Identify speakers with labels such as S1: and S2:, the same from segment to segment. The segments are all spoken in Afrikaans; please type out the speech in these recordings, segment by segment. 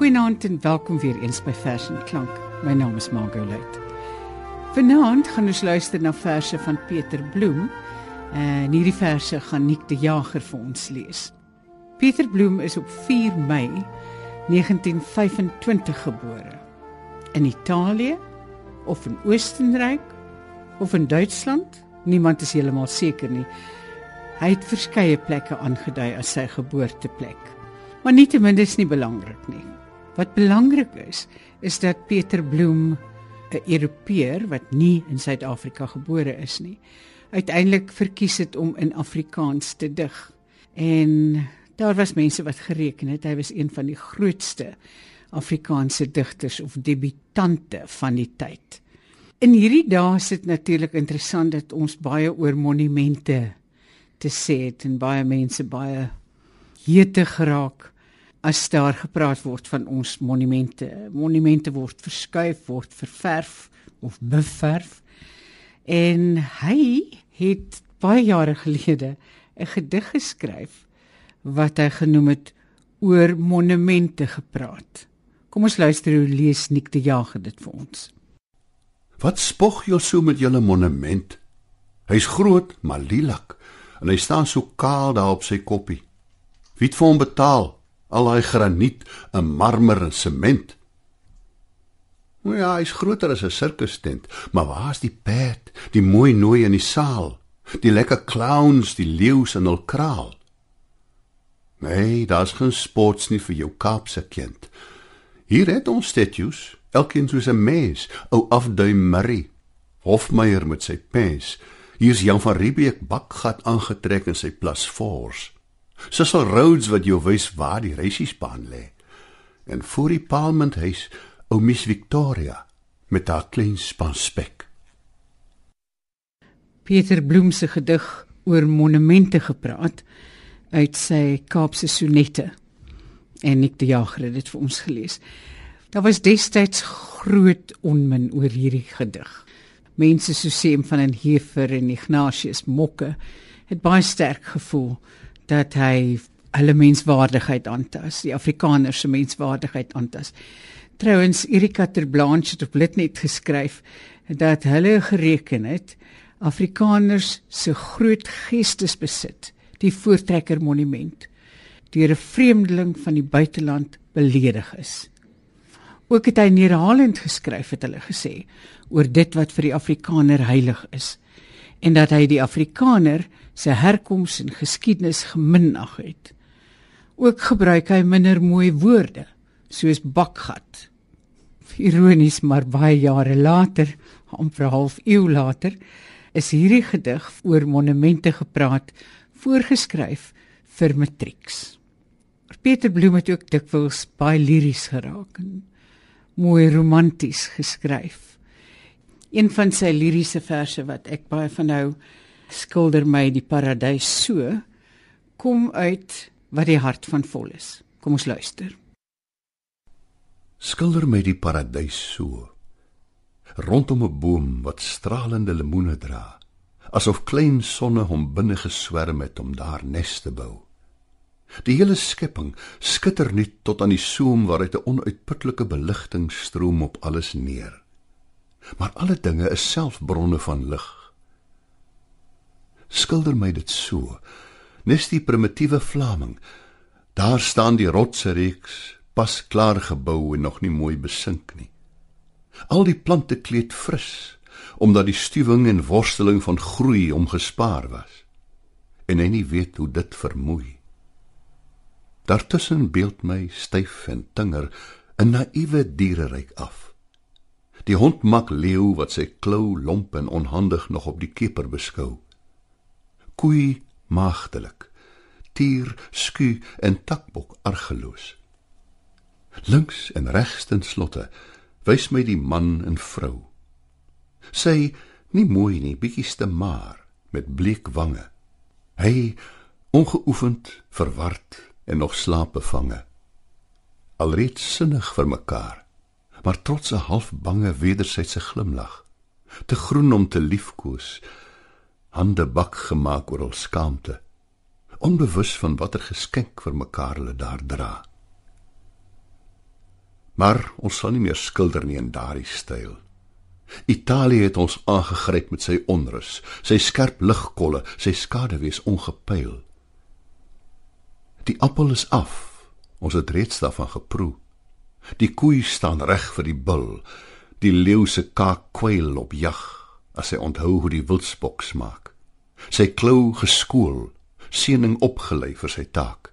S1: Goeienaand en welkom weer eens by Vers en Klank. My naam is Margot Luit. Vanaand gaan ons luister na verse van Peter Bloem. En hierdie verse gaan Niek de Jager vir ons lees. Peter Bloem is op 4 Mei 1925 gebore. In Italië, of in Oostenryk, of in Duitsland, niemand is heeltemal seker nie. Hy het verskeie plekke aangedui as sy geboorteplek. Maar nietemin is nie belangrik nie. Wat belangrik is dat Peter Bloem, 'n Europeër wat nie in Suid-Afrika gebore is nie, uiteindelik verkies het om in Afrikaans te dig. En daar was mense wat gereken het, hy was een van die grootste Afrikaanse digters of debutante van die tyd. In hierdie dae is dit natuurlik interessant dat ons baie oor monumente te sê het en baie mense baie hete geraak as daar gepraat word van ons monumente. Monumente word verskuif, word ververf of beverf. En hy het baie jare gelede 'n gedig geskryf wat hy genoem het oor monumente gepraat. Kom ons luister hoe lees Niek de Jager dit vir ons.
S2: Wat spog jy so met julle monument? Hy's groot, maar lielak, en hy staan so kaal daar op sy koppie. Wie het vir hom betaal? Al hy graniet, 'n marmer en sement. Nou ja, hy's groter as 'n sirkustent, maar waar's die perd, die mooi nooi in die saal, die lekker clowns, die leeu's in hul kraal? Nee, daar's geen sports nie vir jou Kaapse kind. Hier het ons statues, elkeen soos 'n mens, ou Afduim Murray, Hofmeyer met sy pens, hier's Jan van Riebeeck bakgat aangetrek in sy Plus Force, Cecil Rhodes wat jou wys waar die reisiesbaan lê, en voor die Parlementhuis ou Miss Victoria met haar klein span spek.
S1: Peter Bloem se gedig oor monumente gepraat uit sy Kaapse Sonette. En Niek de Jager het dit vir ons gelees. Daar was destyds groot onmin oor hierdie gedig. Mense soos Seem van den Heever en Ignatius Mokke het baie sterk gevoel dat hy hulle menswaardigheid aantas, die Afrikaners se menswaardigheid aantas. Trouwens, Erika ter Blanche het op Litnet geskryf dat hulle gereken het Afrikaners se groot geestesbesit, die Voortrekker Monument, deur 'n vreemdeling van die buiteland beledig is. Ook het hy neerhalend geskryf, het hulle gesê, oor dit wat vir die Afrikaner heilig is, en dat hy die Afrikaner sy herkoms en geskiedenis geminag het. Ook gebruik hy minder mooi woorde, soos bakgat. Ironies, maar baie jare later, amper 'n half eeu later, is hierdie gedig oor monumente gepraat, voorgeskryf vir matrieks. Peter Bloem het ook dikwels baie liries geraak en mooi romanties geskryf. Een van sy liriese verse wat ek baie van hou, Skilder my die paradys so, kom uit wat die hart van vol is. Kom ons luister.
S2: Skilder my die paradys so, rondom 'n boom wat stralende lemoene dra, asof klein sonne hom binne geswerm het om daar nes te bou. Die hele skepping skitter nie tot aan die soem waaruit 'n onuitputlike beligting stroom op alles neer. Maar alle dinge is self bronne van lig. Skilder my dit so, nes die primitiewe Vlaming, daar staan die rotse reeks, pas klaar gebou en nog nie mooi besink nie. Al die plante kleed fris, omdat die stuwing en worsteling van groei omgespaar was, en hy nie weet hoe dit vermoei. Daartussen beeld my styf en tinger 'n naïewe diereryk af. Die hond mak leeu wat sy klou lomp en onhandig nog op die keper beskou. Koei maagdelik, tier, sku en takbok argeloos. Links en regs ten slotte wys my die man en vrou. Sy, nie mooi nie, bietjies te maar, met bleek wange. Hy, ongeoefend, verward en nog slaapbevange. Alreeds sinnig vir mekaar, maar trots 'n half bange wedersydse glimlag, te groen om te liefkoes, hande bak gemaak oor hul skaamte, onbewus van watter geskenk vir mekaar hulle daar dra. Maar ons sal nie meer skilder nie in daardie styl. Italië het ons aangegryp met sy onrus, sy skerp ligkolle, sy skaduwees ongepyl. Die appel is af, ons het reeds daarvan geproe. Die koei staan reg vir die bul, die leeu se kaak kwyl op jag, as hy onthou hoe die wildsbok smaak. Sy klou geskool, seëning opgelei vir sy taak.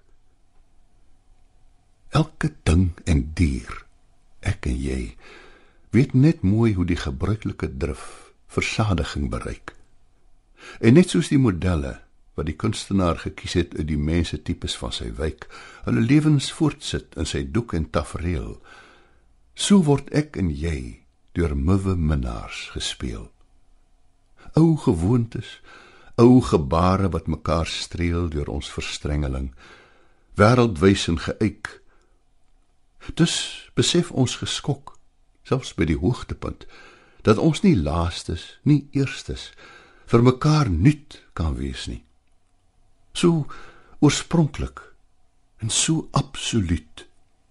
S2: Elke ding en dier, ek en jy, weet net mooi hoe die gebruikelike drif versadiging bereik. En net soos die modelle wat die kunstenaar gekies het uit die mensetipes van sy wijk, hulle lewens voortsit in sy doek en tafereel, so word ek en jy deur muwe minnaars gespeel. Ou gewoontes, ou gebare wat mekaar streel deur ons verstrengeling, wêreldwys en geëik. Dus besef ons geskok, selfs by die hoogtepunt, dat ons nie laastes, nie eerstes, vir mekaar nuut kan wees nie. So oorspronklik en so absoluut.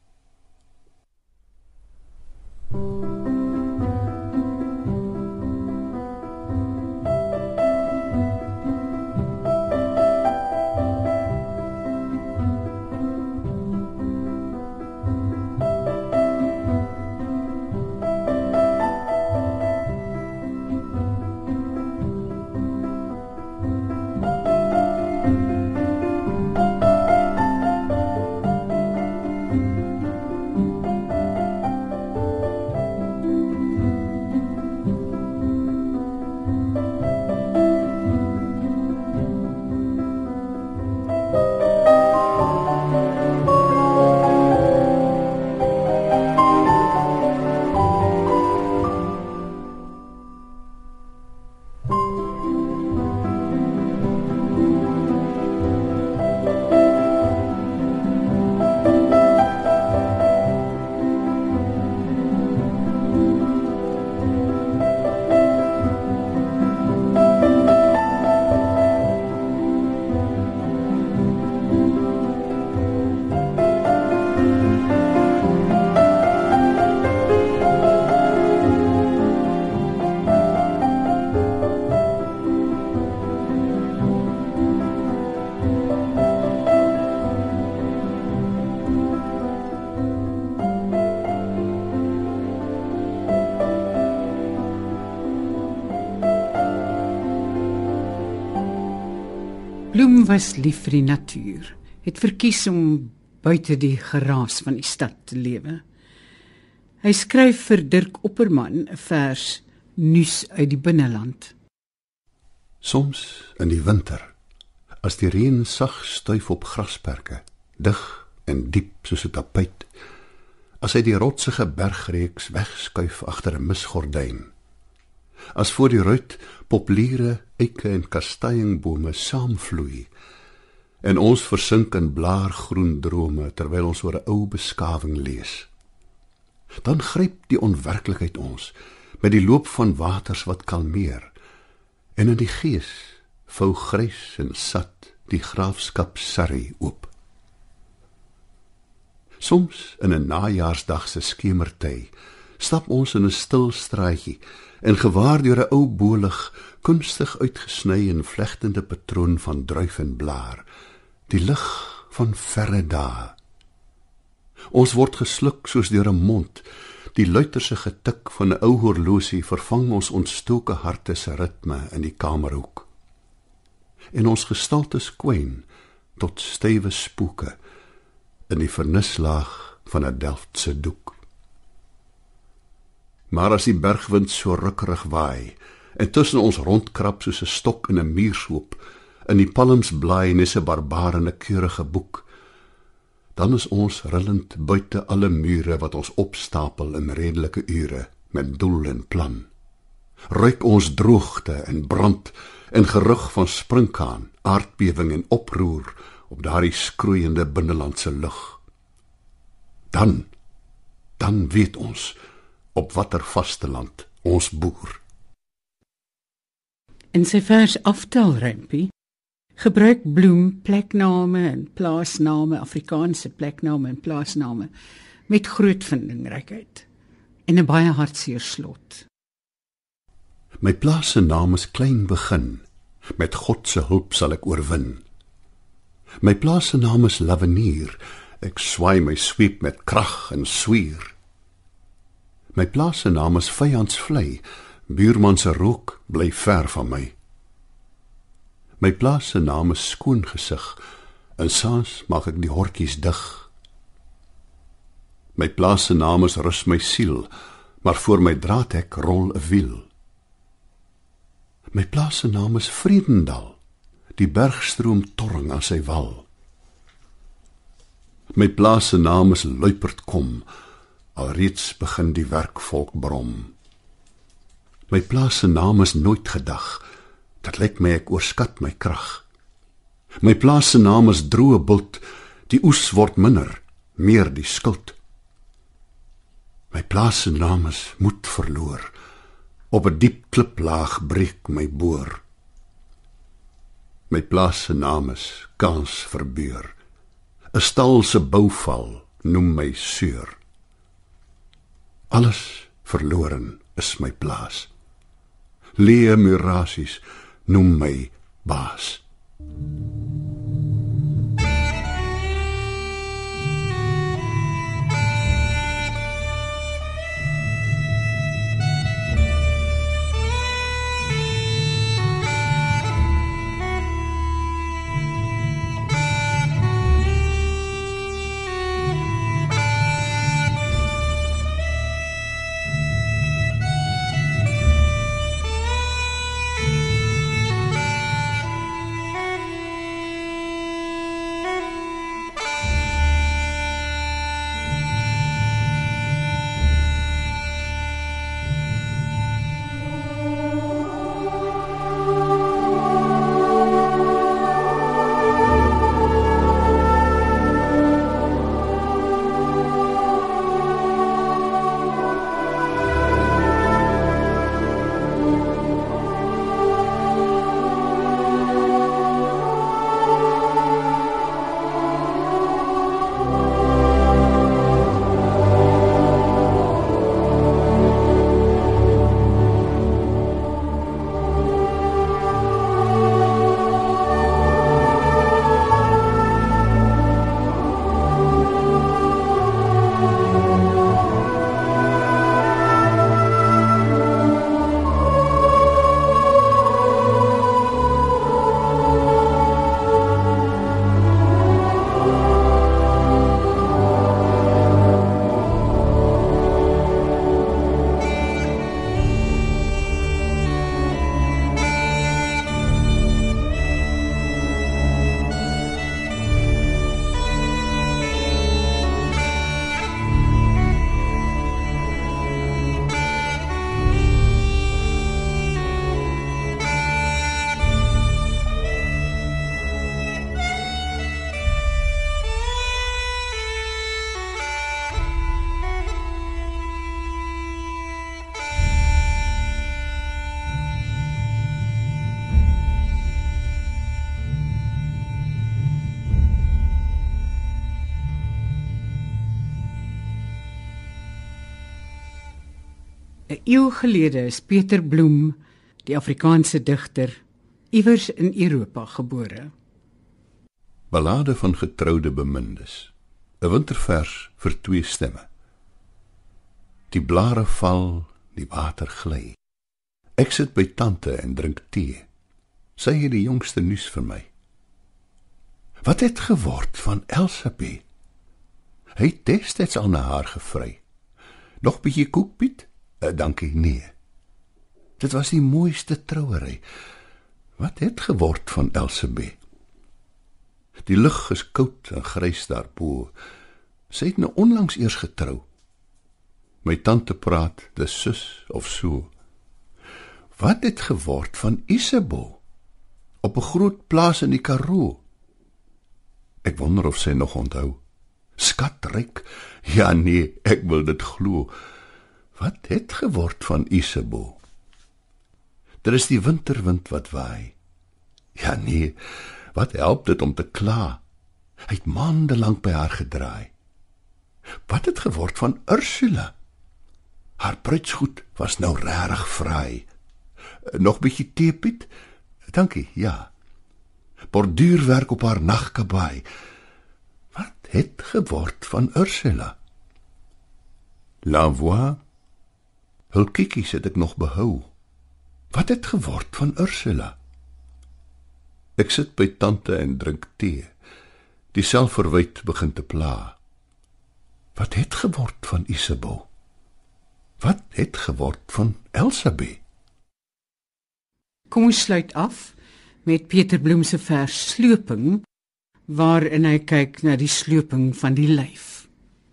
S1: Bloem was lief vir die natuur, het verkies om buite die geraas van die stad te lewe. Hy skryf vir Dirk Opperman 'n vers nuus uit die binneland.
S2: Soms in die winter, as die reën sag stuif op grasperke, dig en diep soos 'n tapuit, as hy die rotsige bergreeks wegskuif agter 'n misgordyn, as voor die ruit populiere, eike en kastanjebome saamvloei, en ons versink in blaargroen drome terwyl ons oor 'n ou beskawing lees. Dan gryp die onwerklikheid ons met die loop van waters wat kalmeer, en in die gees vou grys en sat die graafskap Surrey oop. Soms in 'n najaarsdag se skemerty stap ons in 'n stil straatjie en gewaar deur 'n ou bolig, kunstig uitgesny in vlegtende patroon van druif en blaar, die lig van verre dae. Ons word gesluk soos deur 'n mond, die luiterse getik van 'n ou horlosie vervang ons ontstoke harte se ritme in die kamerhoek. En ons gestaltes kwyn tot stywe spooke in die vernislaag van 'n Delftse doek. Maar as die bergwind so rukkerig waai en tussen ons rondkrap soos 'n stok in 'n muurshoop, in die palms blaai nes 'n barbaar in 'n keurige boek, dan is ons rillend buite alle mure wat ons opstapel in redelike ure met doel en plan. Ruik ons droogte en brand en gerug van sprinkaan, aardbewing en oproer op daardie skroeiende binnelandse lug. Dan weet ons op watter vasteland ons boer.
S1: In sy vers Aftelrympie gebruik Bloem plekname en plaasname, Afrikaanse plekname en plaasname, met groot vindingrykheid en 'n baie hartseer slot.
S2: My plaas se naam is Klein Begin, met God se hulp sal ek oorwin. My plaas se naam is Lavenier, ek swaai my sweep met krag en swier. My plaas se naam is Vyandsvlei, buurman se rook bly ver van my. My plaas se naam is Skoongesig, en saans maak ek die hortjies dig. My plaas se naam is Rus my siel, maar voor my draadhek rol 'n wiel. My plaas se naam is Vredendal, die bergstroom torring aan sy wal. My plaas se naam is Luipertkom, alreeds begin die werkvolk brom. My plaas se naam is Nooit Gedag, dit lyk my ek oorskat my krag. My plaas se naam is Droë Bult, die oes word minder, meer die skuld. My plaas se naam is Moed Verloor, op 'n diep kliplaag breek my boor. My plaas se naam is Kans Verbeur, 'n stal se bouval noem my Seur. Alles verloren is my plaas, leë murasies noem my baas.
S1: Een eeu gelede is Peter Bloem, die Afrikaanse digter, iewers in Europa gebore.
S2: Ballade van getroude bemindes, 'n wintervers vir 2 stemme. Die blare val, die water gly. Ek sit by tante en drink tee. Sy het die jongste nuus vir my. Wat het geword van Elsabeth? Hy het destyds al na haar gevry. Nog bietjie koek, Piet? Dankie, nee. Dit was die mooiste trouery. Wat het geword van Elsabeth? Die lug is koud en grys daarbo. Sy het nou onlangs eers getrou. My tante praat, dis sus of so. Wat het geword van Isabeau? Op 'n groot plaas in die Karoo. Ek wonder of sy nog onthou. Skatryk? Ja nee, ek wil dit glo. Wat het geword van Isabeau? Daar is die winterwind wat waai. Ja nee, wat help dit om te kla? Hy het maande lank by haar gedraai. Wat het geword van Ursula? Haar bruidsgoed was nou regtig fraai. Nog bietjie tee, Piet? Dankie, ja. Borduurwerk op haar nagkabaai. Wat het geword van Ursula? L'Envoi? Hul kiekies het ek nog behou. Wat het geword van Ursula? Ek sit by tante en drink tee. Die selfverwyt begin te pla. Wat het geword van Isabeau? Wat het geword van Elsabé?
S1: Kom ons sluit af met Peter Bloem se vers Sloping, waarin hy kyk na die sloping van die lyf.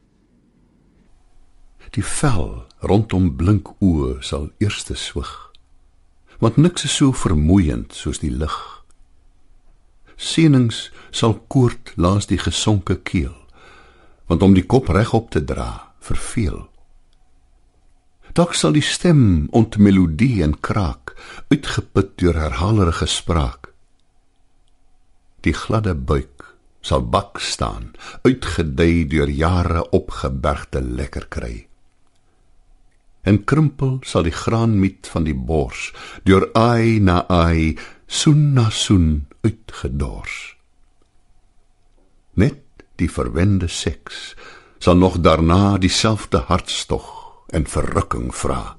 S2: Die vel rondom blink oë sal eerste swig, want niks is so vermoeiend soos die lig. Senings sal koord langs die gesonke keel, want om die kop regop te dra, verveel. Dalk sal die stem ontmelodie en kraak, uitgeput deur herhaalderige spraak. Die gladde buik sal bak staan, uitgedei deur jare opgebergte lekker kry. En krimpel sal die graanmiet van die bors, deur aai na aai, soen na soen uitgedors. Net die verwende seks sal nog daarna dieselfde hartstog en verrukking vra.